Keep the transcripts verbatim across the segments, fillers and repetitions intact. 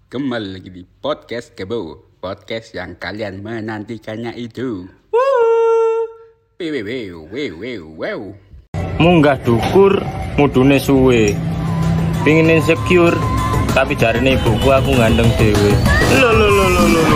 Kembali lagi di Podcast Kebo, podcast yang kalian menantikannya itu. Wew, wew, wew, wew, wew. Munggah dukur, mudune suwe. Pingin insecure, tapi jarine ibuku aku gandeng dhewe. Lho lho lho lho lho.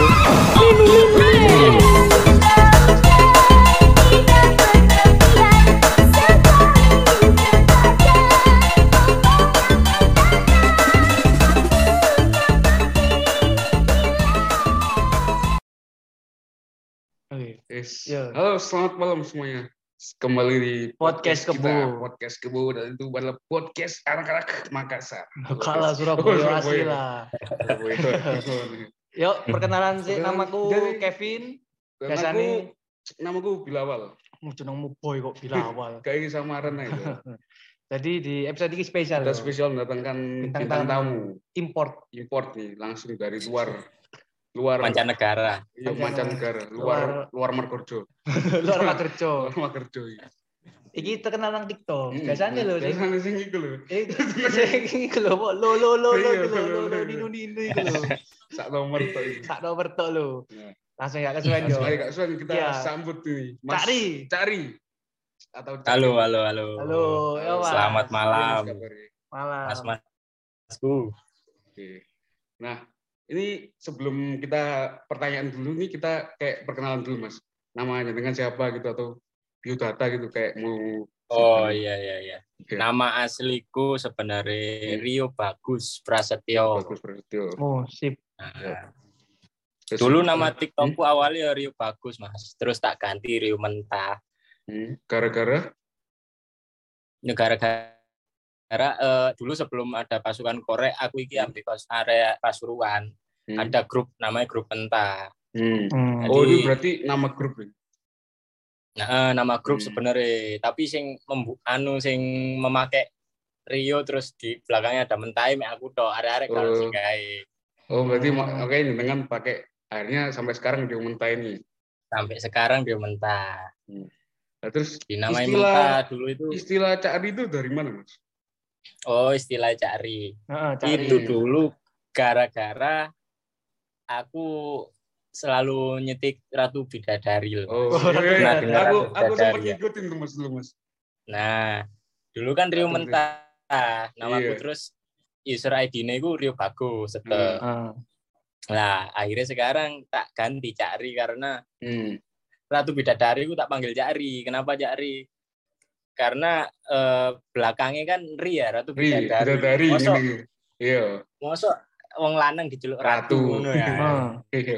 Yes. Ya. Halo, selamat malam semuanya. Kembali di Podcast kita, Kebo. Podcast Kebo, dan itu adalah podcast anak-anak Makassar. Kalah Oh, Surabaya asli lah. Surabaya. Yuk, perkenalan sih, Perkenalan, namaku jadi- Kevin. Namaku, Biasanya namaku Bilawal. mau jenengmu boy kok Bilawal. Kayak samaran aja. Jadi di episode ini spesial. Kita loh. spesial mendatangkan Bintang bintang, tamu. tamu Import. import nih, langsung dari luar luar Mancanegara. iya, Mancanegara. mancanegara, luar luar Margojo. Luar Makerjo. Luar Margojo. Iya. Iki terkenal nang TikTok. Hmm, Biasanya lho sing Biasanya sing iku lho. eh sing iku lho kok lo lo lo lo Iya, lo lo, lo lo, lo lo. ninu ninu iku lho. Sak nomor tok iki. Sak nomor tok lho. Nah. Langsung ya kesuwen yo. Langsung aja Kak Swan, kita Iya. sambut nih Mas Cari. Cari atau Cari. Halo, halo, halo. Halo, ya Mas. Selamat malam. Gimana kabarnya? Malam. Mas Masku. Oke. Nah, ini sebelum kita pertanyaan dulu nih, kita kayak perkenalan dulu Mas. Namanya dengan siapa gitu atau biodata gitu kayak mau Oh iya iya iya. Oke. Nama asliku sebenarnya Rio Bagus Prasetyo. Bagus Prasetyo. Oh, sip. Nah, Terus- dulu nama TikTokku awalnya Rio Bagus Mas. Terus tak ganti Rio Mentah. Hmm, gara-gara Negara gara eh, dulu sebelum ada pasukan Korek, aku iki ambil pas area Pasuruan. hmm. Ada grup namanya grup Mentah. Hmm. Hmm. Oh, Jadi- ini berarti nama grup ya? Nah, eh, nama grup Hmm. sebenarnya, tapi sing membu anu sing memakai Rio terus di belakangnya ada Mentai, mek aku tok arek-arek kalau Oh. sing gawe. Oh, berarti Hmm. ma- oke ini dengan pakai akhirnya sampai sekarang dia mentah ini. Sampai sekarang dia Mentah. Nah, terus Dinamai Istilah- Mentah dulu itu. istilah Cari itu dari mana, Mas? Oh, istilah cari. Heeh, cari. Itu dulu gara-gara aku selalu nyetik Ratu Bidadari loh. Oh, Oh, iya, iya. pernah dengar aku Ratu aku sempat Bidadari ya? ngikutin tuh Mas dulu, Mas. Nah, dulu kan Rio Ratu Mentah. Namaku Iya. terus user I D-nya itu Rio Bagus. Hmm. Setel. Heeh. Nah, akhirnya sekarang tak ganti Cari karena Hmm. Ratu Bidadari aku tak panggil Cari. Kenapa Cari? Karena eh, belakangnya kan Ri ya, Ratu Ri, Bidadari. Bidadari Mosok, ngene. Iya. mosok wong lanang diceluk Ratu, Ratu. ngono ya. Heeh. Iya.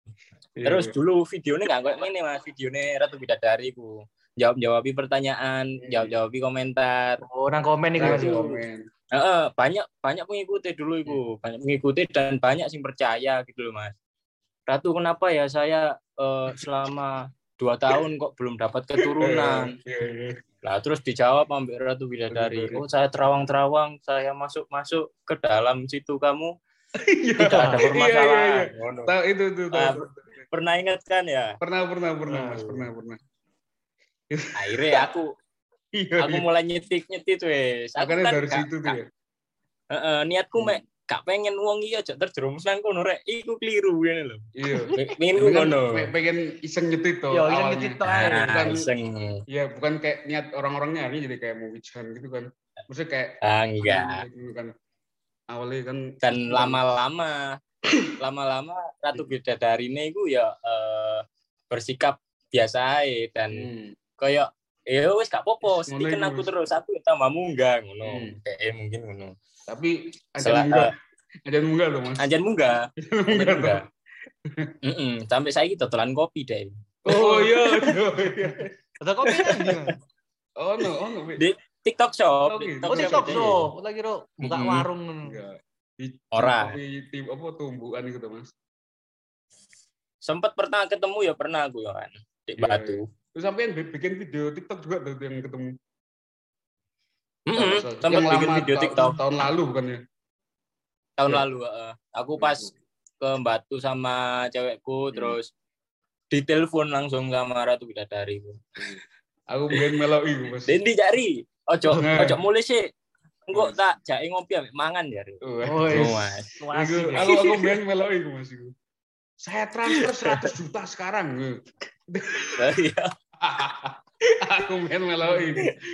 Terus dulu videonya nggak kayak gini mas, videonya Ratu Bidadari ku jawab-jawabi pertanyaan, Hmm. jawab-jawabi komentar. Oh, nang komen iki Mas. Ratu yo. komen. Heeh, banyak banyak pengikuti dulu itu, Hmm. banyak pengikuti dan banyak sing percaya gitu loh mas. Ratu kenapa ya saya eh, selama dua tahun kok belum dapat keturunan? Iya, iya. Nah terus dijawab ambil Ratu Bidadari. Bidadari. Oh saya terawang-terawang, saya masuk-masuk ke dalam situ kamu Iya. tidak ada Iya, permasalahan. iya, iya. Ngono. Tahu itu tuh, tahu. Ah, tahu. Pernah ingat kan ya? Pernah, pernah, pernah, Mas, Tahu. pernah, pernah. Akhirnya aku Iya. aku iya. mulai nyetik-nyetik wes. Aku Makanya kan dari gak- situ tuh gak- ya. Heeh, niatku Hmm. mek gak pengen wong iki aja terjerumus nang kono rek. Iku keliru ngene lho. Iya. Pengen Tapi kan ngono. pe- pengen iseng nyetit tuh. Yo, iseng awalnya. nyetit tuh ae. Ah, bukan, iseng. Iya, bukan kayak niat orang-orangnya ini jadi kayak mau wijan gitu kan. Maksudnya kayak Ah, enggak. dulu kan awalnya kan Dan lama-lama lama-lama Ratu Bidadari ini iku ya eh, bersikap biasa ae dan Hmm. kayak ya wis gak apa-apa, Ngono stiken iku, aku wis. terus aku tambah munggah ngono. Hmm. Kayak eh, mungkin ngono. Tapi ada Sela- munggah. Ada munggah loh, Mas. Anjan munggah. Anjan Munggah munggah. tuh. Heeh, sampai saiki dodolan kopi deh. Oh iya, oh iya. Ada kopi kan dia. Oh no, oh no. Di TikTok shop. Oh, gitu. Oh, TikTok deh. shop. Lagi ro buka Mm-mm. warung ngono. Enggak. Di Ora. Di tim apa tumbuhan gitu, Mas. Sempet pernah ketemu ya pernah aku ya kan di Iya, Batu. Terus sampai bikin video TikTok juga tuh yang ketemu. Heeh, Kalau salah. sempet Yang bikin lama video ta- TikTok tahun lalu bukan ya? tahun Iya. lalu. heeh. Aku pas ke Batu sama cewekku Hmm. terus ditelepon langsung sama Ratu Bidadari. Aku pengen meloi, Mas. Dendi cari. Ojo Nah. ojo mulai sih. Engko tak jake ngopi ambek mangan ya. Ri. Oh, Oh, Oh, Mas. Asik, ya. aku aku bilang meloi iku Mas iku. Saya transfer seratus juta sekarang. Iya. Aku main meloi.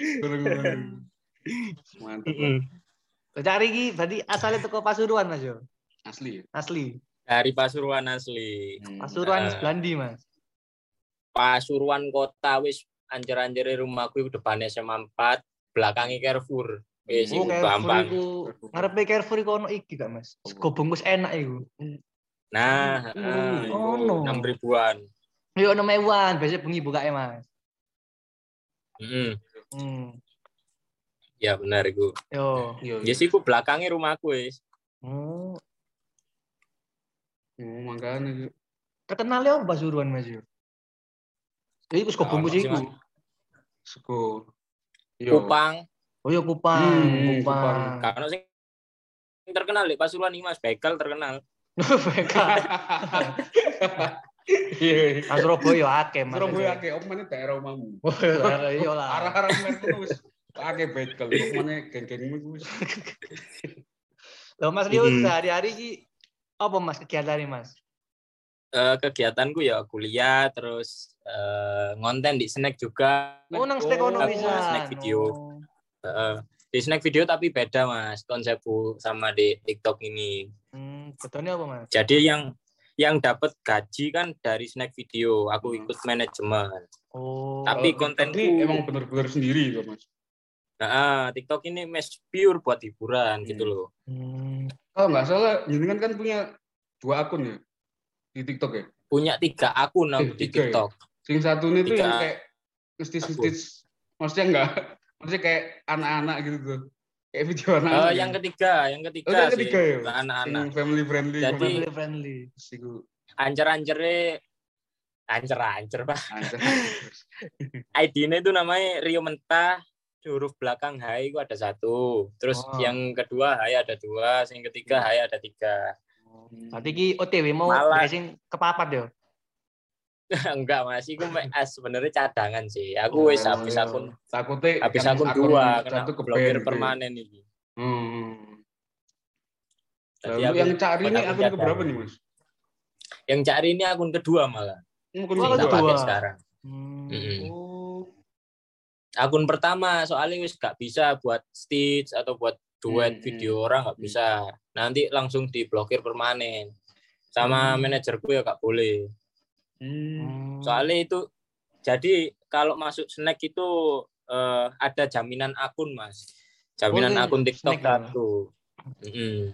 Mantap. Mm-mm. Cari iki berarti asalnya teko Pasuruan Mas yo. Asli. Asli. Dari Pasuruan asli. Hmm. Pasuruan Nah. sebelah ndi, Mas? Pasuruan kota wis ancer-ancere rumahku iku depane S M A empat, belakangi Carrefour. Wis Oh, iku Carrefour gampang. iku ngarepe Carrefour iku ono iki gak, Mas? Sego bungkus enak iku. Nah, Oh, eh, oh, no. enam ribuan. Yo ono mewan, biasa bengi bukake, Mas. Heeh. Hmm. Ya benar iku. Yo. Iya. Ya sih iku belakangi rumahku wis. Oh, Oh, makanya terkenal ya Pasuruan Mas yo. Ya iku sego Gak bungkus ono sih, iku. Mas. sego. Yo. Kupang, Oh yo Kupang, Hmm, Kupang. karena sing terkenal di Pasuruan iki Mas, begal terkenal. Begal. Iya. Mas Surabaya akeh, Mas. Surabaya akeh omane daerah omahmu. Oh, iya lah. Arah-arah merku wis akeh bekel. Omane geng-gengmu iku wis. Loh Mas Rio Mm-mm. sehari-hari iki apa Mas kegiatannya Mas? Eh, kegiatanku ya kuliah terus eh, ngonten di snack juga. Oh nang snack ono Oh, bisa. snack video. Eh, di snack video tapi beda Mas konsepku sama di TikTok ini. Hmm, betulnya apa Mas? Jadi yang yang dapat gaji kan dari snack video, aku Hmm. ikut manajemen. Oh. Tapi Kalau TikTok kontenku- ini emang bener-bener sendiri loh Mas. Nah, TikTok ini mes pure buat hiburan Hmm. gitu loh. Hmm. Kalau nggak salah, jenengan kan punya dua akun ya di TikTok ya. Punya tiga akun Eh, aku di tiga ya? TikTok. Sing satu ini tuh Tiga yang kayak ngestis-ngestis, maksudnya enggak, maksudnya kayak anak-anak gitu tuh. Kayak video Eh, anak-anak. yang gitu. ketiga, yang ketiga, Oh, yang sih, ketiga ya? ke anak-anak. Sing family friendly. Jadi- Family friendly. Siku Ancer-ancere ancer-ancer Pak. anjir. I D-nya itu namanya Rio Mentah, huruf belakang H itu ada satu. Terus Oh. yang kedua H ada dua, yang ketiga H ada tiga. Berarti ki O T W mau Malah- racing kepapat yo. Enggak Mas, itu me- ah, sebenarnya cadangan sih. Aku wis Oh, habis iya. akun Takutnya habis kan akun dua kena satu ke blokir ban, gitu. permanen ini. Hmm. Jadi Lalu aku yang cari ini buat akun cadangan. keberapa nih Mas? Yang cari ini akun kedua malah. Akun Oh, Yang tak kedua. pakai sekarang. Hmm. Mm-mm. Oh. Akun pertama soalnya wis gak bisa buat stitch atau buat duet Hmm, video hmm. orang nggak Hmm. bisa. Nanti langsung diblokir permanen. Sama Hmm. manajerku ya gak boleh. Hmm. Hmm. Soalnya itu jadi kalau masuk snack itu eh, ada jaminan akun Mas. Jaminan Boleh, akun TikTok snack ya? satu. Mm-mm.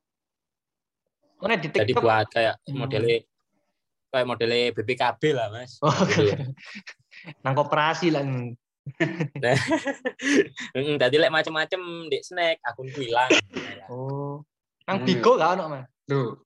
Oh, nek di Jadi TikTok. buat kayak Hmm. modelnya kayak modelnya B P K B lah Mas. Oh, Gitu. nang koperasi lah. Mm-mm, Tadi lek macem-macem di snack akunku hilang. Oh. Nang Hmm. Bigo gak ono Mas? Tuh.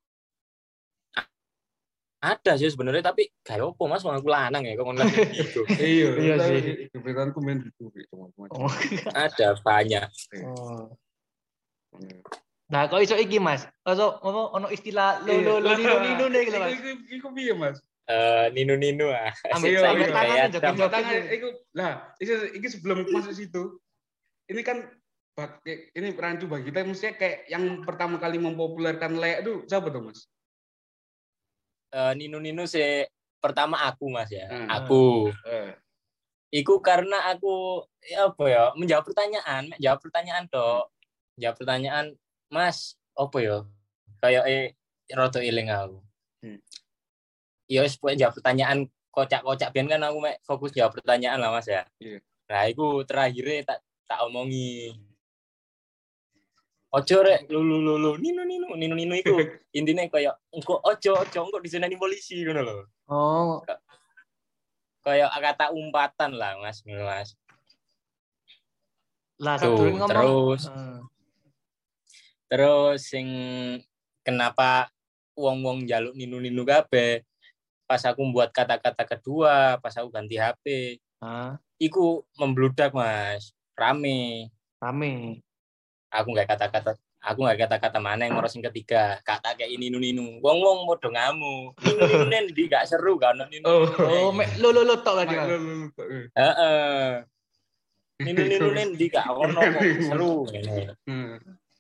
Ada sih sebenarnya tapi kayak opo Mas wong aku lanang ya kok ngono gitu. Iya, Iya tapi sih. kebetulanku main gitu teman-teman. Oh. Ada banyak. Oh. Nah, kok iso iki Mas? Iso ono ono istilah lo lo lo nino nino nih gitu Mas. Iku iku piye Mas? Eh ninu-ninu ah. Ambil Iya, Saya ambil kayak tangan ada- aja, Tanggal tangan iku lah, iki iki sebelum masuk situ. Ini kan bak- ini rancu bagi kita mestinya kayak yang pertama kali mempopulerkan lek itu siapa tuh Mas? eh, ninu-ninu sih pertama aku Mas ya. Hmm. Aku. Eh. Iku karena aku ya apa ya menjawab pertanyaan, menjawab pertanyaan dok. Jawab pertanyaan, Mas, apa ya? Kayak eh roto iling aku. Hmm. Ya wis pokoke jawab pertanyaan kocak-kocak biyen kan aku mek fokus jawab pertanyaan lah Mas ya. Iya. Nah, iku terakhirnya tak tak omongi. Ojo rek lu lu lu lu ninu ninu ninu ninu iku intine kayak engko ojo ojo engko diseneni polisi ngono lho. Oh, Kayak kata umpatan lah Mas, ngono Mas. lah Tuh, sadurunge ngomong. terus Heeh. terus sing kenapa wong-wong njaluk ninu-ninu kabeh pas aku membuat kata-kata kedua, pas aku ganti H P, Ah, iku membludak Mas, rame. rame. Aku nggak kata-kata aku nggak kata-kata mana yang ngurus yang ketiga kata kayak ini ninu ninu wong wong podo ngamu ninu ninu nendi gak seru kan ninu Oh. Oh, mek lo lo lo tok lagi Mak, Mas. lu, lu, lu, lu. heeh ninu ninu nendi gak ono kok seru ngene Hmm.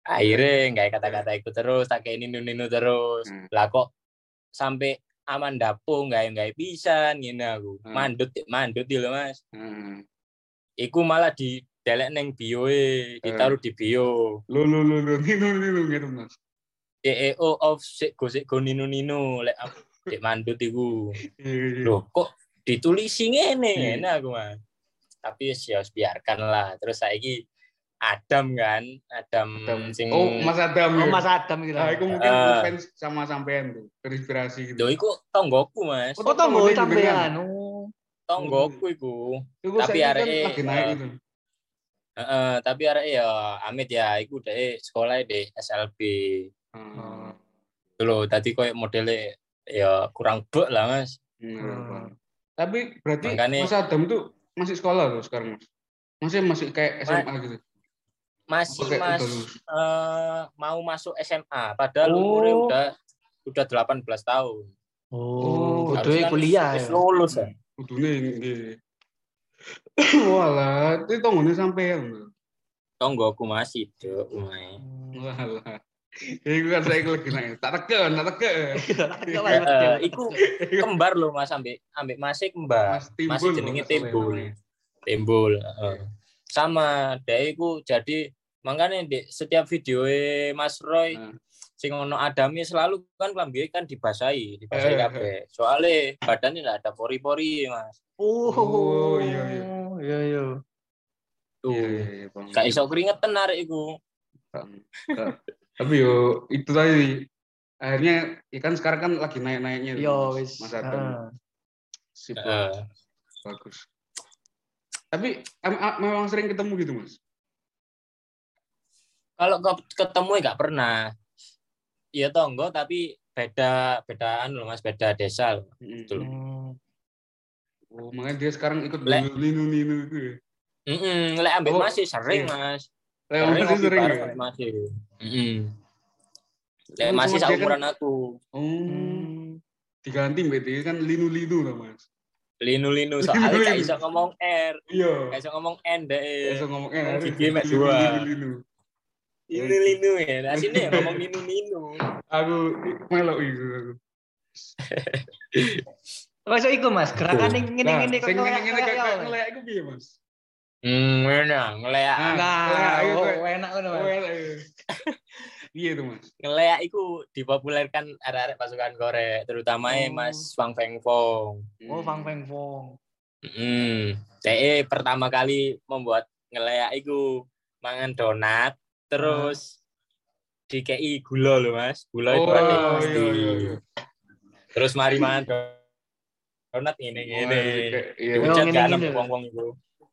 Akhirnya nggak kata-kata itu terus, tak kayak ninu-ninu terus. Hmm. Lah kok sampai aman dapo nggak nggak bisa ngene aku. Hmm. Mandut mandut lho Mas. Heeh. Iku malah di delek neng bio e, ditaruh di bio. Lu lu lu lu ninu ninu gitu Mas. C E O of sik go sik go ninu-ninu lek dek mandut iku. Loh, kok ditulisi ngene ngene aku Mas. Tapi ya biarkan lah. Terus saiki Adam kan, Adam, Adam. sing Oh, Mas Adam. Oh, ya? Mas Adam gitu. Nah, itu mungkin Uh. fans sama sampean tuh, terinspirasi gitu. Lho iku tonggoku Mas. Oh, tonggo Tonggo sampean. jenengan. Oh. Tonggoku iku. Itu Tapi saya kan areke lagi naik itu. Heeh, tapi arek ya Amit ya iku dhek sekolah di S L B. Hmm. Lho, tadi koyo modele ya kurang bek lah Mas. Hmm. Tapi berarti Makanya- Mas Adam tuh masih sekolah loh sekarang Mas. Masih masih kayak S M A gitu. Masih Oke, Mas udah lulus. eh, mau masuk S M A padahal Oh. umurnya udah udah delapan belas tahun. Oh, Oh, kudu Harusnya kan kuliah wis ya. lulus ya. Kudune nggih. Walah, itu tonggone sampean. Tonggoku masih Dok, umai. Walah. Iku kan saya lagi naik. Tak teken, tak teken. Eh, iku kembar loh Mas ambek ambek masih kembar. Mas Timbul, Masih jenenge kalau nggak salah Timbul. namanya. Timbul, heeh. Sama dhek iku jadi makanya di setiap video Mas Roy Nah. sing ono Adami selalu kan klambi kan dibasahi, dibasahi Eh, kabeh. Soale badannya enggak ada pori-pori, Mas. Oh, Oh, iya, iya. Iya, iya. Tuh. Iya, iya, iya, Bang. Gak iso keringetan arek iku. Nggak. Tapi yo itu tadi akhirnya ya kan sekarang kan lagi naik-naiknya tuh, Yo, Mas, wis. Mas Adam. Heeh. Sip, Heeh. bagus. Tapi em- em- memang sering ketemu gitu Mas. Kalau ke- ketemu ya gak pernah. Iya tonggo tapi beda bedaan loh Mas, beda desa loh. Mm-mm. Betul. Hmm. Oh, makanya dia sekarang ikut Lek. ninu-ninu itu ya. Heeh, lek ambek Oh, masih sering, iya. Mas. Lek Sering masih ngopi sering bareng ya. ambek masih. Heeh. Lek Oh, masih sama dia kan- saumuran aku. Oh, Hmm. diganti berarti kan linu-linu lah Mas. Linu-linu soalnya gak Linu-linu. iso ngomong R, Iya. gak iso ngomong N deh. Bisa ngomong eh Ngomong harus gigi mek dua. linu-linu. Linu-linu ya. Nah sini ngomong linu-linu. Aku melok itu aku. Masuk iku Mas, gerakan ning ngene-ngene kok sing kayak ngene-ngene kayak kayak apa? ngelek iku piye Mas? Hmm, enak ngeleak. Nah, Nah, ayo, oh, kayak- enak ngono Oh, Mas. elek. Iya tuh Mas. Ngeleak iku dipopulerkan arek-arek pasukan Korek, terutama Oh. Mas Wang Feng Fong. Oh, Fang Feng Fong. Hmm, D E pertama kali membuat ngeleak iku mangan donat, terus dikei gula loh Mas, gula itu Oh, ada iya, pasti. iya, iya. Terus mari mangan donat ini Oh, gini. kayak- iya. Oh, Diucat kan ngene-ngene. sampai wong-wong itu.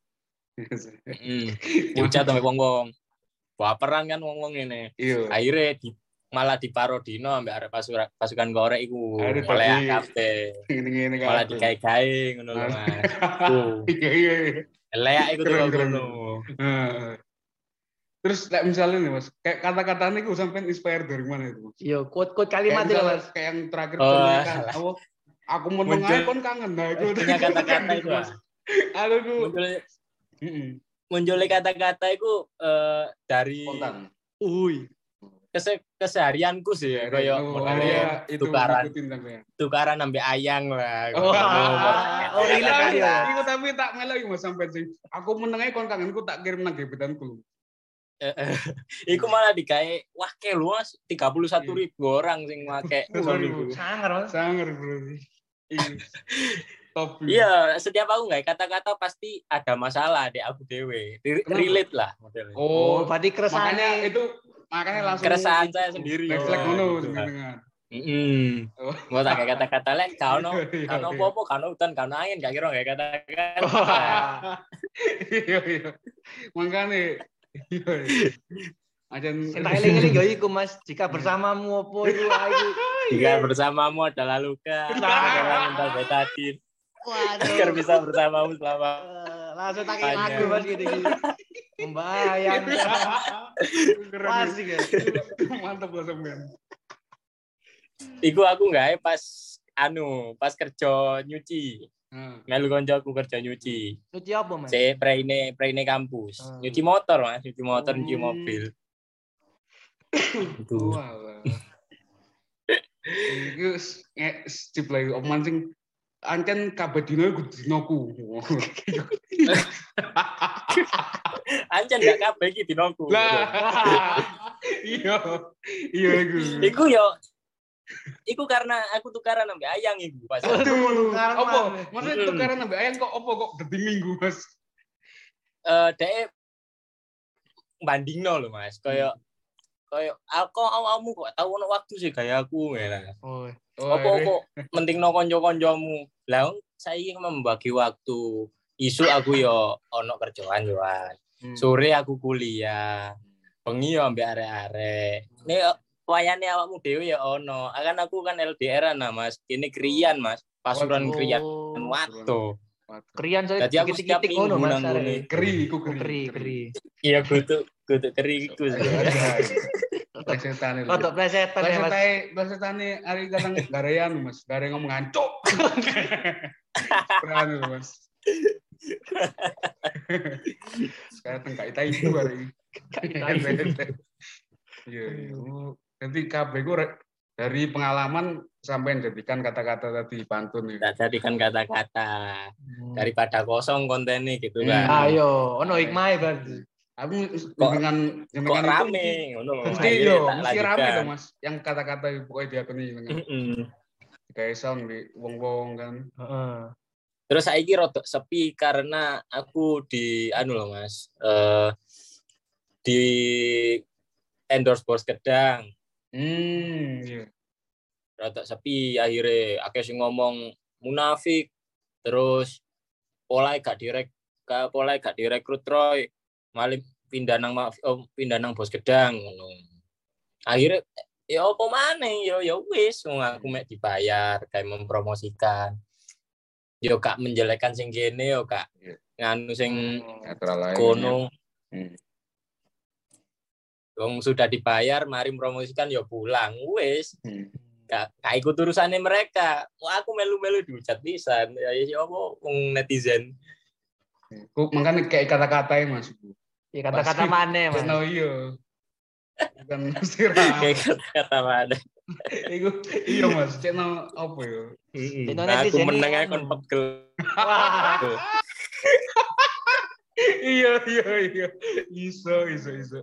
Heeh. Diucat sampai wong-wong. Baperan kan wong-wong ini. Iya. Akhirnya di, malah diparodino ambek arek pasukan pasukan Korek iku. Akhirnya Ngeleak tadi- kabeh. Ngene-ngene kan. Malah digawe-gawe ngono lho Mas. Tuh. Iya, iya, iya. Ngeleak iku tuh Keren, keren. ngono. Nah. Terus kayak misalnya nih Mas, kayak kata-katanya itu sampai inspire dari mana itu Mas? Yo, quote-quote Kayak, kalimat itu misalnya, Mas. kayak yang terakhir Oh, contohnya kan, salah. aku, aku mau Muncul- nengah kon kangen nah itu. Punya kata-kata itu Mas. Mas. Aku tuh Muncul heeh, munculnya kata-kata itu eh, dari spontan. Uy. Kese, keseharianku sih ya, kayak Oh, modelnya iya, itu tukaran ngikutin sampean. tukaran ambil ayang lah. Oh, oh, relate tapi, tadi ya. iku tapi tak melok iku Mas sampai sing. Aku menengai kon kangenku tak kirim nang gebetanku. Eh, eh, Iku malah digawe wah ke lu Mas tiga puluh satu ribu orang sing make soal iku. Sangar Mas. Sangar bro. Iya. Top. Iya, setiap aku nggak kata-kata pasti ada masalah di aku dewe. Re- Kenapa? Relate lah modelnya. Oh, Oh, berarti makanya keresane itu makanya langsung Keresahan saya sendiri. refleks Oh, ngono gitu. jenengan. Heeh. Oh. Mau tak kayak kata-kata lek kano Iya, kano iya. apa-apa kano hutan kano angin gak kira kayak kata-kata. Iya iya. Makane iya. Ajan Sing tak eling-eling yo iku Mas, jika bersamamu opo iku aku. Jika bersamamu adalah luka, adalah mental betadin. Agar Waduh. bisa bersamamu selama Eh, Langsung tak eling Tanya. lagu Mas gini-gini. Membayangkan. Pas keren. iki. Mantap lah sampean. Iku aku nggak pas anu pas kerja nyuci. Nah, Melu koncoku kerja nyuci. Suci apa Mas? Saya preine preine kampus. Hmm. Nyuci motor Mas, nyuci motor, nyuci Hmm. mobil. Itu. Walah. Iku stip lagi omongan sing ancen kabeh dino iku dinoku. Ancen gak kabeh iki dinoku. Lah. Iya. Iya iku. Iku yo iku karena aku tukaran ambek ayang iku pas. Aduh, Tukaran, apa? Mas. Maksudnya tukaran ambek ayang kok apa kok dadi minggu, Mas? Eh dhek bandingno lho Mas. Kayak kayak aku awakmu kok tau ono waktu sih kayak aku ngene. Oh. Apa kok mentingno kanca-kancamu. Lah saiki membagi waktu. Isu aku yo ono kerjaan yoan. Sore aku kuliah. Bengi yo ambek arek-arek. Nek wayane awakmu dhewe ya ono. Kan aku kan L D R-an nah Mas. Kene kriyan Mas. Pasuran kriyan wato. Krian saya Dadi aku setiap titik-titik ngono minggu Mas. nang ngene. arek. Keri, iku Oh, keri, keri. Iya kudu kudu keri iku. Plesetan. Rodok plesetan ya Mas. Plesetane, plesetane ari kadang garean, Mas. Gare ngomong ngancuk. Berani lho, Mas. Sekarang tengah itu itu hari. Iya, nanti K B ku dari pengalaman sampai jadikan kata-kata tadi pantun itu. Tak jadikan kata-kata daripada kosong kontennya gitu Hmm. kan. Ayo, ono hikmah berarti. Aku Kok- dengan Kok dengan rame itu ngono lho. mesti Akhirnya yo, tak mesti rame lanjutkan. dong Mas. Yang kata-kata pokoknya diakoni dengan Mm-mm. kayak sound di wong-wong kan. Heeh. Terus saiki rodok sepi karena aku di anu loh Mas. Eh di endorse Bos Gedang. Hmm, iya. Rodok sepi akhirnya akeh sing ngomong munafik. Terus pola gak direk ka pola gak direkrut Roy. Malah pindah nang oh, pindah nang Bos Gedang ngono. Akhirnya ya apa maneh ya ya wis wong aku mek dibayar kayak mempromosikan. Yo gak menjelekkan sing kene yo gak Iya. nganu sing Netral lain. kono. Hmm. Wong sudah dibayar mari mempromosikan yo pulang wis. Hmm. Gak gak ikut urusannya mereka. Wah aku melu-melu dihujat pisan. Ya ya apa wong netizen. Ku makanya kayak kata-katanya Mas. Ya kata-kata mana Mas? No iya. Bukan mesti rame. Kayak kata-kata mana. Iku iya Mas, cek no apa ya? Heeh. Cek no Aku netizen meneng ini ae kon anu. pegel. Wah. Iya iya iya. Iso iso iso.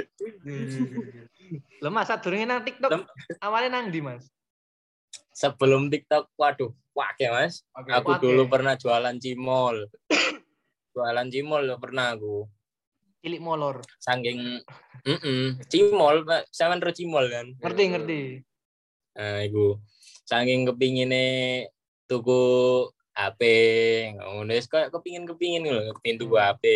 Lho Mas, sadurunge nang TikTok Lem- awalnya nang ndi Mas? Sebelum TikTok waduh wake Mas. Oke. Aku Wake. dulu pernah jualan cimol. Jualan cimol lo pernah aku. Cilik molor. Saking heeh, cimol, Pak. Sampeyan ro cimol kan. Ngerti, ngerti. Nah, iku saking kepingine tuku H P, ngono wis koyo kepingin-kepingin lho, kepingin tuku H P.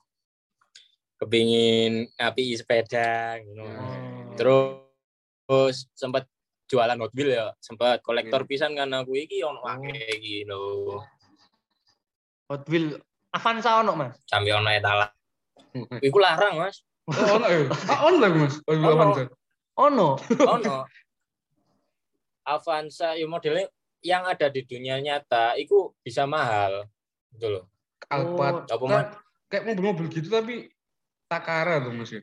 Kepingin ngapi sepeda ngono. Oh. Terus sempat jualan Hot Wheels ya, sempat kolektor pisan kan aku iki ono akeh iki lho. Hot Wheel Avanza ono Mas. Sampai ono etalan. Iku larang, Mas. Oh, ono ya. Ah, ono lah Mas. Oh, Ono. Avanza. Ono. Ono. Avanza ya modelnya yang ada di dunia nyata itu bisa mahal. Gitu loh. Alphard. Apa Kan Mas? kayak mobil-mobil gitu tapi Takara tuh Mas.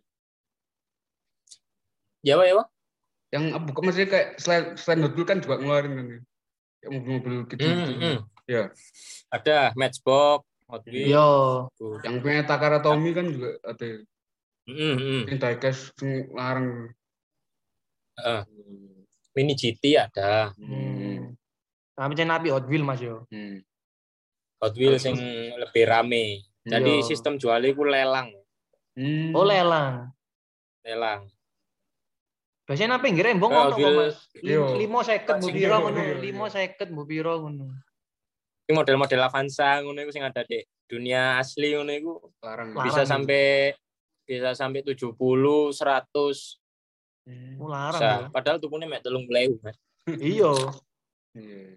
Ya, Pak, ya, Pak. Yang bukan maksudnya kayak selain selain Hot Wheels kan juga ngeluarin kan. ya. Kayak mobil-mobil gitu. Hmm, hmm. Ya. Ada Matchbox, Hot Wheels. Yo. Tuh. Yang punya Takara Tommy kan juga ada. Hmm, hmm. Yang diecast sing larang. Heeh. Mini G T ada. Hmm. Kami cen nabi Hot Wheel Mas yo. Hmm. Hot Wheels yang lebih rame. Jadi Iya. sistem jualnya itu lelang. Hmm. Oh lelang. Lelang. Biasanya nabi ngira embong Eh, ono Hot kok Wheels. Mas. Iya. lima seket mbok Iya, piro iya, ngono. iya. lima seket mbok piro ngono. Ini model-model Avanza ngono iku sing ada di dunia asli ngono iku Larang. Larang. bisa itu. sampai bisa sampai tujuh puluh, seratus. Oh larang Bisa. yo. Padahal tukune mek telung puluh, Mas. Iya. Iya.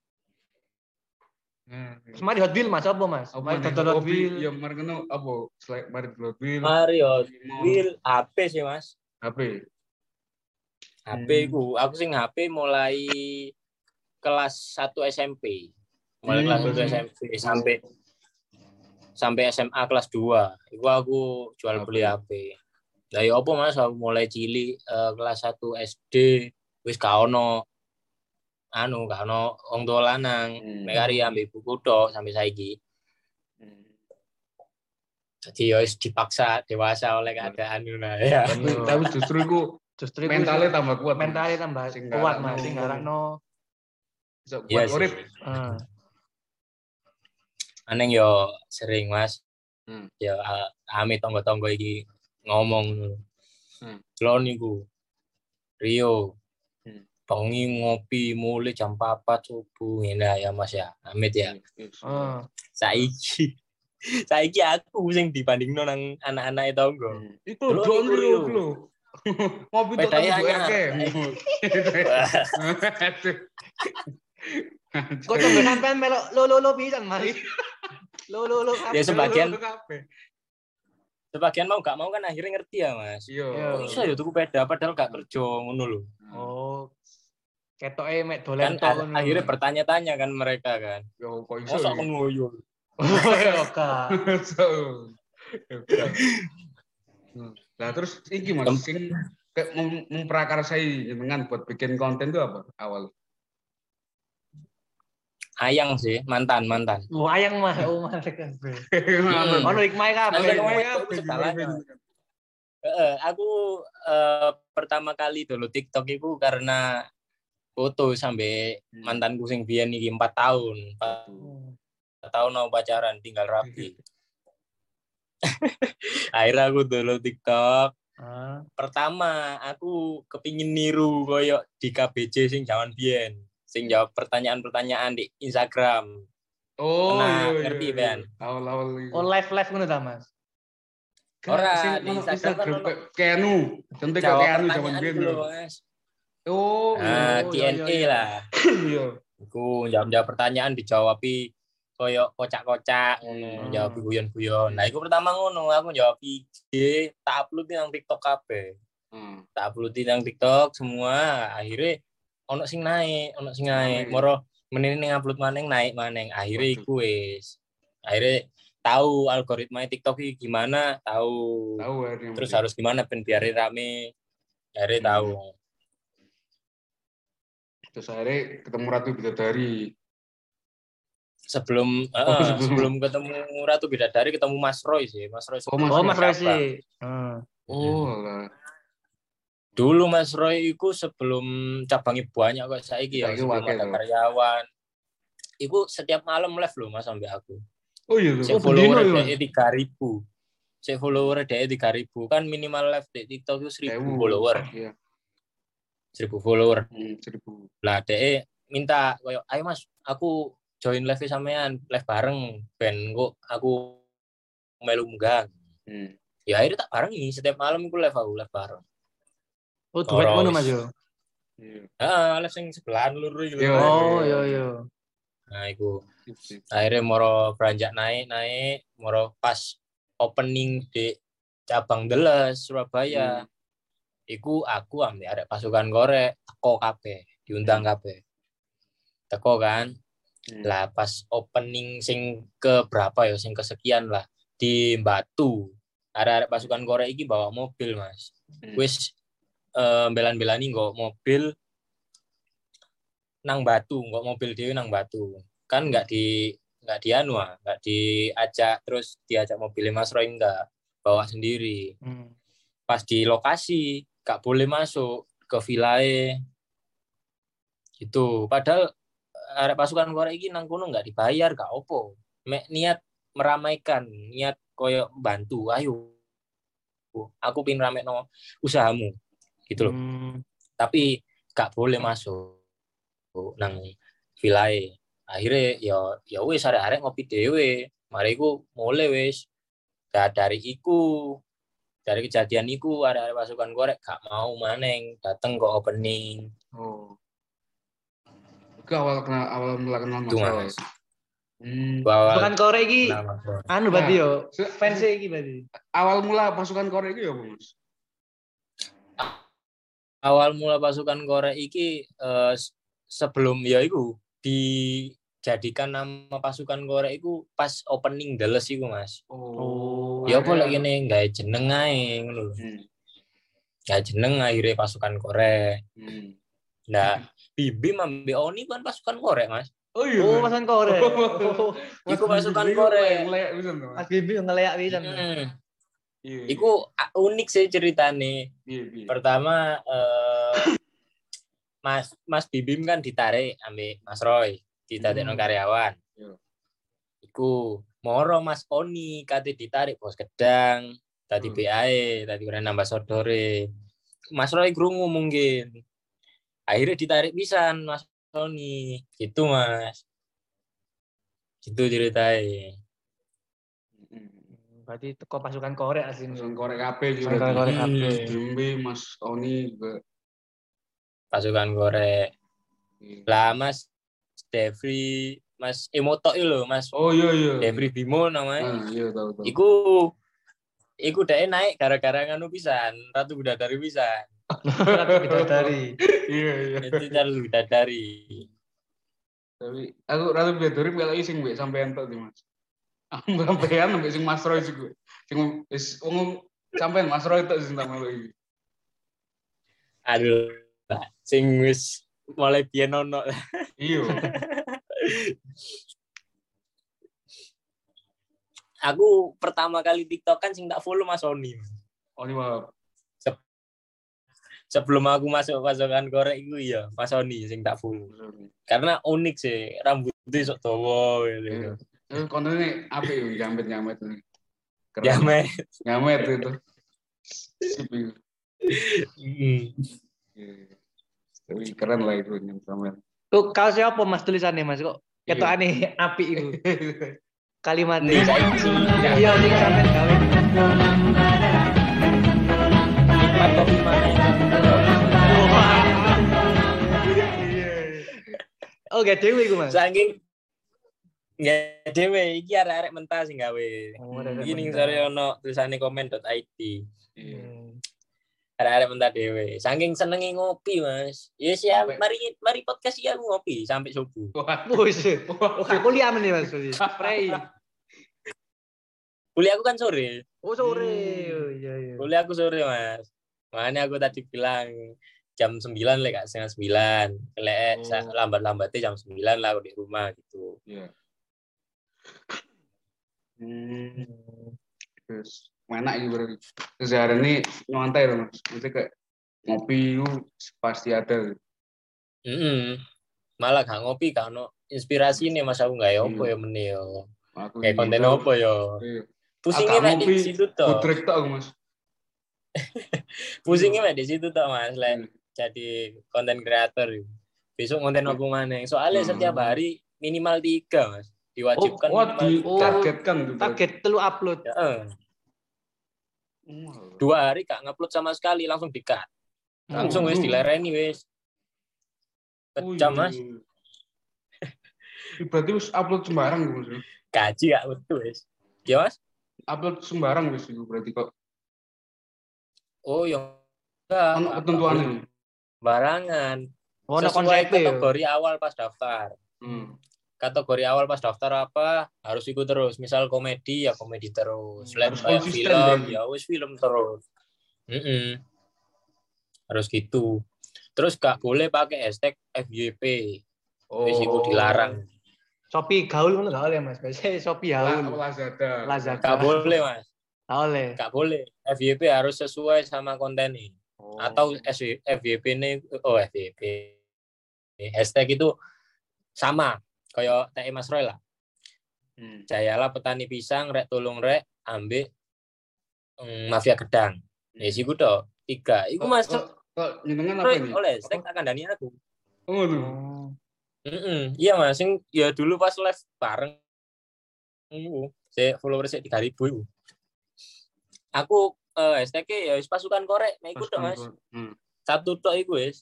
Nah, Terus mari Hot Wheel Mas apa Mas? apa Mari nih? dodol Hot Hobi, Wheel. ya mari kena apa? Selain mari Hot Wheel, Mario Limo, Wheel H P sih, Mas. H P. H P Hmm. ku, aku sing H P mulai kelas satu S M P. Mulai Hmm. kelas satu S M P sampai sampai S M A kelas dua. Iku aku jual beli H P. Lah ya apa Mas, aku mulai cilik uh, kelas satu S D wis gak ono anu gak ono wong tua lanang, Hmm. mek kari ambek buku tok sampai saiki. Hmm. Jadi ya wis dipaksa dewasa oleh keadaan ngono ya. Tapi, tapi justru itu Justru iku mentalnya tambah kuat. mentalnya tambah Sing kuat ngarakno- Mas, sing ngarakno. Bisa Iya kuat sih. urip. Heeh. Aneng yo sering Mas. Hmm. Ya uh, ame tonggo-tonggo iki ngomong. Hmm. Lo niku Rio. Hmm. Bengi ngopi mulai jam empat subuh ngene ya Mas ya. Amit ya. Heeh. Saiki saiki aku sing dibandingno nang anak-anak tonggo. Hmm. Itu Delok Don niku, Rio Rio. lho. Ngopi tuh Pedaya tambah anyar. R K. Kok tunggu sampean melok lo-lo-lo pisan Mas. Lo-lo-lo Ya sebagian kabeh. sebagian mau gak mau kan akhirnya ngerti ya Mas. Iya. Kok iso ya tuku peda padahal gak kerja ngono lho. Oh. Ketoke mek Kan dolen tok a- ngono. akhirnya bertanya-tanya kan mereka kan. Yo kok iso. Mosok ya? mengoyo. Oh, ya Kak. So. Nah, terus iki Mas sing kayak mem- memprakarsai jenengan buat bikin konten itu apa awal? Ayang sih, mantan, mantan. Oh, ayang mah, oh mah kabeh. Hmm. Ono hikmah kabeh. Kan Hikmah itu kabeh, segalanya. gimana? Heeh, aku eh, pertama kali dulu TikTok itu karena foto sampai Hmm. mantanku sing biyen iki empat tahun. empat tahun mau pacaran tinggal rapi. Akhirnya aku dulu TikTok. Ah. Pertama aku kepingin niru koyo di K B J sing jaman biyen, sing jawab pertanyaan-pertanyaan di Instagram. Oh, Pernah iya, iya, ngerti, iya. Ben? Awal-awal itu. Oh, live-live ngono ta, Mas? Ora, Sing di ono Instagram kan Instagram ono kayak Keanu, contoh kayak jawab Keanu zaman pertanyaan biyen. dulu, lho. Mas. Oh, Nah, Oh, Q iya, and iya, A iya. lah. iya. Iku jawab-jawab pertanyaan dijawabi koyo kocak-kocak ngono, Hmm. jawab guyon-guyon. Nah, iku pertama ngono, aku jawab I G, tak upload nang TikTok kabeh. Hmm. Tak upload nang TikTok semua, akhirnya ono sing naik, ono sing naik. Naik. Moro menene ning upload maneng naik maneng. Akhirnya Waduh. iku wis. Akhirnya tahu algoritma TikTok iki gimana, tahu. Tahu akhirnya. Terus harus gimana ben biar rame. Akhirnya Hmm. tahu. Terus akhirnya ketemu Ratu Bidadari. Sebelum Oh, eh, sebelum. sebelum ketemu Ratu Bidadari ketemu Mas Roy sih. Mas Roy. Oh, Mas Oh, Roy. Mas Roy sih. Heeh. Oh, lah. Dulu Mas Roy itu sebelum cabangnya banyak kok saiki ya, Saiki sebelum wakil ada loh. karyawan. Iku setiap malam live loh Mas sampai aku. Oh iya tuh. Saya Oh, follower bendino ya? dia tiga ribu. Saya follower dia tiga ribu. Kan minimal live di TikTok itu seribu follower. Iya. seribu follower. Hmm, seribu. Lah dia minta koyo ayo Mas, aku join live sampean, live bareng ben kok aku melu munggah. Hmm. Ya akhirnya tak barengi setiap malam aku live aku live bareng. Oh, duet Ora ngono wis. Mas yo. Iya. Heeh, live sing sebelahan lur iki lho. Iya. Oh, iya iya. Nah, iku Sip, sip. akhirnya moro beranjak naik naik moro pas opening di cabang Deles Surabaya. Hmm. Iku aku ambil arek pasukan korek teko kabeh, diundang kabeh. Teko kan. Hmm. Lah pas opening sing ke berapa ya, sing kesekian lah di Batu. Arek-arek pasukan korek iki bawa mobil, Mas. Hmm. Wis eh, belan-belani nggo mobil nang Batu, nggo mobil dhewe nang Batu. Kan enggak di enggak di anu, ah, enggak diajak terus diajak mobil Mas Roy enggak, bawa sendiri. Hmm. Pas di lokasi gak boleh masuk ke vilae gitu. Padahal arek pasukan korek iki nang kono gak dibayar, gak opo. Mek niat meramaikan, niat koyo bantu, ayo. Aku pin ramekno usahamu. Gitu loh. Hmm. Tapi gak boleh masuk nang vilae. Akhirnya ya ya wis arek-arek ngopi dhewe. Mari iku mulai wis. Da dari iku dari kejadian iku arek-arek pasukan korek gak mau maneng dateng ke opening. Oh. Itu awal kenal awal mula kenal Mas Itu, Roy. Mas. Hmm. Bahwa Pasukan Korek iki nama Roy. anu berarti yo. Se- Fans iki berarti. Awal mula pasukan Korek itu ya, Mas? Awal mula pasukan korek iki eh, sebelum ya iku dijadikan nama pasukan korek iku pas opening Deles iku Mas. Oh. Ya apa akhirnya- lek kene gawe jeneng ae ngono lho. Hmm. Ya jeneng akhirnya pasukan korek. Hmm. Nah, Bibim ambil Oni kan pasukan korek, Mas. Oh iya. Oh, Mas. pasukan korek. Oh, Mas Iku pasukan Bibi korek. Ngeleyak bisa tuh. Mas Bibi ngeleyak pisan. Mm. Iya. Iku unik sih ceritanya. Iya, iya. Pertama eh, Mas Mas Bibim kan ditarik ambil Mas Roy, ditadekno Hmm. karyawan. Iya. Iku moro Mas Oni kate ditarik bos gedang, tadi Hmm. B A E, tadi ora nambah sodore. Mas Roy krungu mungkin. Akhirnya ditarik pisan Mas Oni. Gitu, Mas. Gitu ceritanya. Hmm. Berarti teko pasukan korek aslinya. Pasukan korek kabeh iki Pasukan berarti. korek Hmm. kabeh. Bimbi, Mas Oni juga. Pasukan korek. Iya. Lah Mas Devri, Mas Emoto itu loh, Mas Oh iya iya. Devri Bimo namanya. Ah, iya tahu tahu. Iku iku dhek naik gara-gara nganu pisan, Ratu Bidadari pisan. Ratu Bidadari. Iya iya. Itu Ratu Bidadari. Tapi aku Ratu Bidadari kalau ising mbek sampean tok di Mas. Aku sampean mbek sing Mas Roy juga. Sing wis wong sampean Mas Roy tok sing tak malu iki. Aduh, sing wis mulai biyen ono. Iya. Aku pertama kali TikTok kan sing tak follow Mas Oni. Oni maaf. Sebelum aku masuk pasukan korek iku ya, Mas Oni sing tak follow. Karena unik sih, rambutnya sok dawa gitu. Eh kontennya apik yo jamet-jamet ini. Keren. Jamet. Jamet itu. Sip itu. Mm. Iya. Tapi keren lah itu sampean. Tuh kaos siapa Mas tulisannya Mas kok ketok aneh apik iku. Kalimatnya. Nih, saiki. Iya, sing sampean gawe. Nikmat kopi mana yang Oh, gak dewe iku Mas. saking ya dhewe iki arek-arek mentah sing gawe. Oh, arek-arek Iki ning mentah. sore ono tulisane komen dot i d. Iya. Arek-arek mentah dhewe. Saking senengi ngopi, Mas. Ya siap, Sampai- mari mari podcast ya ngopi sampai subuh. Wah. Wis. Oh, gak kuliah meneh Mas. Spray. Kuliah aku kan sore. Oh, sore. Hmm. Oh, iya iya. Kuliah aku sore, Mas. Makanya aku tadi bilang jam sembilan lek gak setengah sembilan. Lek Oh. lambat-lambatnya jam sembilan lah aku di rumah gitu. Iya. Hmm. Terus mana ini berarti? Terus hari ini nyantai loh Mas. Maksudnya kayak ngopi itu pasti ada. Mm-mm. Malah gak ngopi gak ono inspirasi nih Mas aku gak ya opo Iya. ya meneh yo. Aku Kayak konten gitu. opo yo. Iya. Pusingnya mek Agak di ngopi, situ toh. Budrek tok aku Mas. Pusingnya mek di situ toh Mas. Lek Iya. jadi konten kreator. Besok konten apa maneh. Soalnya Hmm. setiap hari minimal tiga Mas. Diwajibkan Oh, minimal tiga. ditargetkan tuh. Target telu upload. Heeh. Oh. Dua hari gak ngupload sama sekali langsung di-cut. Langsung wis Oh. dilereni wis. Oh, Kejam iya. Mas. Berarti wis upload sembarang Mas. Gaji gak betul wis. Ya Mas? Upload sembarang wis iku berarti kok Oh yang enggak. ono ketentuannya. Barangan. Ono Sesuai konsep kategori awal pas daftar. Hmm. Kategori awal pas daftar apa harus ikut terus. Misal komedi ya komedi terus. Hmm, Lek harus kayak konsisten film berarti. ya wis film terus. Mm-mm. Harus gitu. Terus gak boleh pakai hashtag F Y P. Wis iku dilarang. Shopee gaul ngono gak oleh Mas. Biasanya Shopee La- gaul. Lazada. Lazada. Gak boleh Mas. Gak oleh. Gak boleh. F Y P harus sesuai sama konten ini. Oh. Atau F Y P ini oh F Y P. Hashtag itu sama kayak T E Mas Roy lah. Hmm. Jayalah petani pisang rek tulung rek ambek mm, mafia gedang. Ya siku toh tiga. Iku Mas Kok kok jenengan apa Roy ini? oleh hashtag akan dani aku. Oh, tuh. Oh. Mm-mm. Iya Mas, sing ya dulu pas live bareng iku, saya followers tiga ribu iku. Aku eh hashtag-e ya wis pasukan korek, mek iku tok Mas. Hmm. Satu tok iku wis.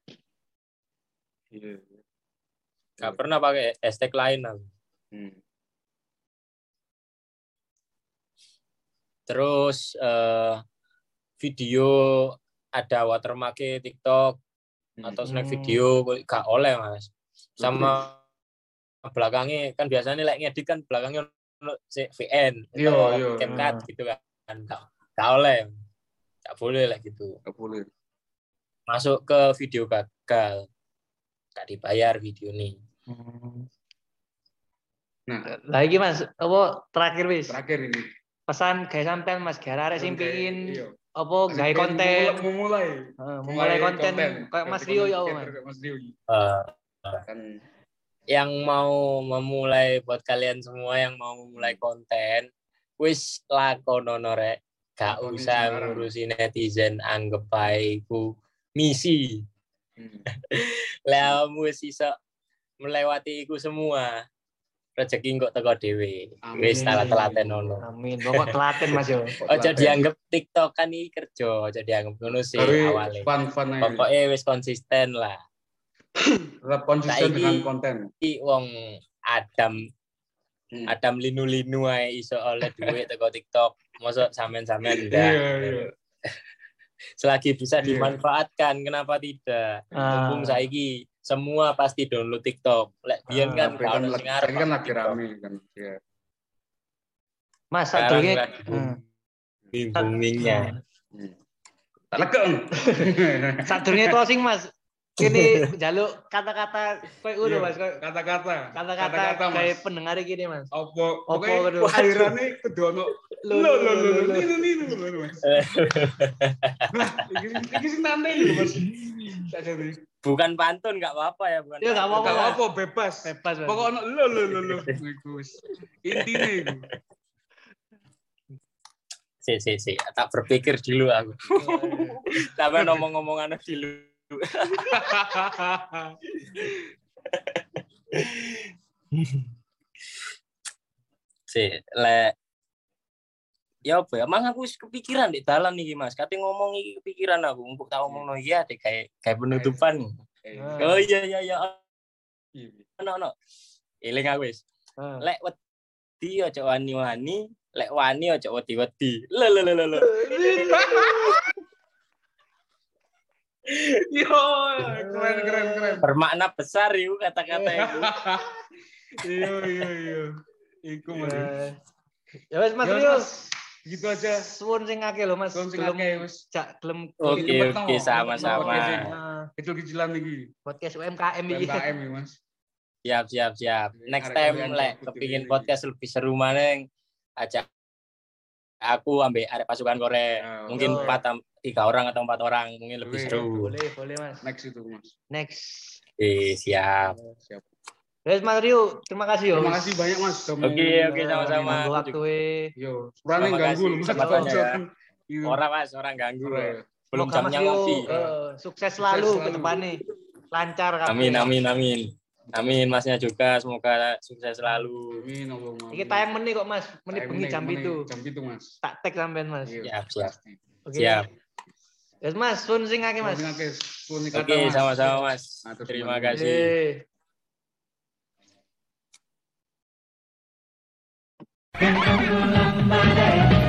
Iya. Gak pernah pakai hashtag lain aku. Hmm. Terus eh video ada watermark TikTok Hmm. atau snack Hmm. video gak oleh Mas. Sama belakangnya kan biasanya like ngedit kan belakangnya ono V N Iya, atau iya. CapCut gitu kan. Gak, gak oleh. Gak boleh lah gitu. Gak boleh. Masuk ke video gagal. Gak dibayar video nih. Hmm. Nah, Lagi Mas, apa terakhir wis? terakhir ini. Pesan gawe sampean Mas, gawe arek sing pengin Iya. apa gawe Pengen konten, memulai, memulai, Heeh, memulai konten kayak Mas Rio ya, Mas. Kayak Mas Rio. Uh, Kan yang mau memulai buat kalian semua yang mau memulai konten, wis lakonono rek. Gak Lakoni usah sekarang. ngurusi netizen, anggap bae iku misi. hmm. Lah wis iso melewati iku semua. Rezeki kok teko dhewe. Amin. Wis telat-telaten ono. Amin. Pokok telaten Mas yo. Aja dianggap TikTok kan iki kerja, aja dianggap ngono sih Tapi awale. fun-fun aja. Pokoknya wis konsisten lah. Tetap konsisten Saiki- dengan konten. Iki wong Adam Hmm. Adam linu-linu ae iso oleh duit teko TikTok. Mosok sampean-sampean enggak. Iya, iya. Selagi bisa Iya. dimanfaatkan, kenapa tidak? Ah. Mumpung saiki semua pasti download TikTok. Lek biyen Ah, kan Tapi gak kan ono lagi, sing arep ini kan masuk lagi TikTok. rame kan. Iya. Mas Sekarang sadurunge lagi booming-boomingnya. Hmm. Tak legeng. sadurunge closing Mas. Kini jaluk kata-kata koyo ngono Iya, Mas, koyo Kata-kata. kata-kata Mas. kayak pendengar gini Mas. Apa? Apa Pokoknya kudu? akhirane kudu ono Lo, lo lo, lo lo lo, lo. ninu ninu ninu, Mas. Nah, iki iki sing nane lho Mas. Sakjane. Bukan pantun enggak apa-apa ya, bukan. Ya, nggak pantun. apa-apa. Enggak apa bebas. Bebas Mas. Pokok ono lo lo lo lo. Iku wis. Intine iku. Si si si, tak berpikir dulu aku. Sampai ngomong-ngomongan dulu. Si, le ya apa ya? Emang aku wis kepikiran di dalan iki Mas. Kate ngomong iki kepikiran aku. Empuk tak ngomongno iya deh kayak kayak penutupan. Eh, Oh iya iya iya. iya. Ono ono. Eling aku wis. Ah. Lek wedi aja wani-wani, lek wani aja wedi-wedi. Lho lho lho lho. Yo, keren keren keren. Bermakna besar itu kata-kata itu. Iya iya iya. Iku Mas. Ya wes Mas Ya, Rio. Mas. Gitu aja. Suwun sing akeh lho Mas. Suwun sing Gelem akeh, wis. jak gelem Oke Cepet oke no, sama-sama. cepet no, Ah, Kecil-kecilan iki. podcast U M K M iki. U M K M ya, Mas. Siap siap siap. Next Arek time kalian lek ikut kepingin ini. podcast lebih seru maneng ajak aku ambil arek pasukan Korea. Ya, Mungkin oh. empat am- tiga orang atau empat orang mungkin lebih Boleh, seru. Boleh, boleh Mas. Next itu, Mas. Next. Oke, siap. Siap. Wes Mas Rio, terima kasih yo. Terima kasih banyak, Mas. Sudah mau- Oke oke sama-sama. Ganggu waktu e. Yo, sepurane Terima ganggu kasih loh, Mas. kesempatannya ya. Iya. Orang Mas, orang ganggu. Ora ya. Belum Semoga Mas jamnya Rio ngopi. eh, sukses selalu selalu. ke depannya. Lancar kabeh. Amin amin amin. Amin Masnya juga semoga sukses selalu. Amin, Allahumma. Iki tayang menit kok Mas, menit Tayang bengi jam menit, itu. Jam itu, Mas. Tak tag sampean Mas. Iya, Siap, siap. pasti. Oke. Siap. Wes Mas, sun sing akeh Mas. Mas. Oke, sama-sama Mas. Atur Terima semangat. kasih. Eh.